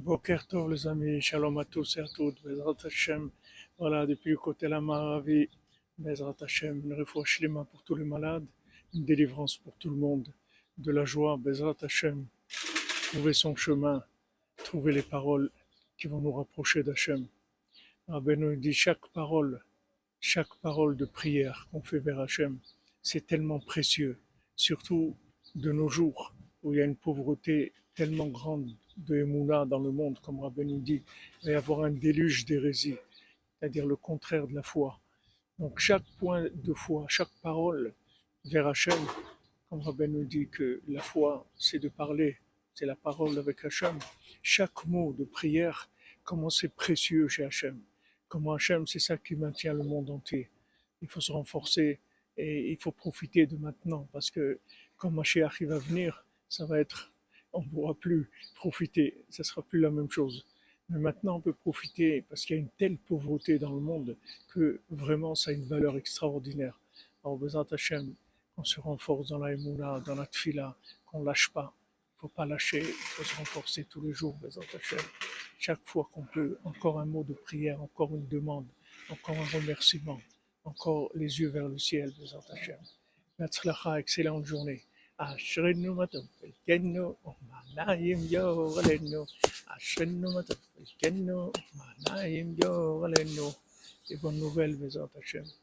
Boker Tov les amis, shalom à tous et à toutes, Bezrat Hashem, voilà, depuis le côté la Maravi, Bezrat Hashem, une réfoua shlema pour tous les malades, une délivrance pour tout le monde, de la joie, Bezrat Hashem, trouver son chemin, trouver les paroles qui vont nous rapprocher d'Hashem. Rabbeinu dit chaque parole de prière qu'on fait vers Hachem, c'est tellement précieux, surtout de nos jours où il y a une pauvreté tellement grande de Emouna dans le monde, comme Rabbi nous dit, il va y avoir un déluge d'hérésie, c'est-à-dire le contraire de la foi. Donc chaque point de foi, chaque parole vers Hachem, comme Rabbi nous dit que la foi, c'est de parler, c'est la parole avec Hachem. Chaque mot de prière, comment c'est précieux chez Hachem. Comment Hachem, c'est ça qui maintient le monde entier. Il faut se renforcer et il faut profiter de maintenant parce que quand Mashiach va venir, ça va être, on ne pourra plus profiter, ça sera plus la même chose. Mais maintenant on peut profiter parce qu'il y a une telle pauvreté dans le monde que vraiment ça a une valeur extraordinaire. Alors Bezat Hachem, qu'on se renforce dans la Emouna, dans la Tfila, qu'on ne lâche pas. Il ne faut pas lâcher, il faut se renforcer tous les jours, Bezat Hachem. Chaque fois qu'on peut, encore un mot de prière, encore une demande, encore un remerciement, encore les yeux vers le ciel, Bezat Hachem. Be'atzlacha, excellente journée. אשרינו מה טוב חלקנו ומעניים יור עלינו אשרינו מה טוב חלקנו ומעניים יור עלינו. Et bonne nouvelle, Bezat Hachem.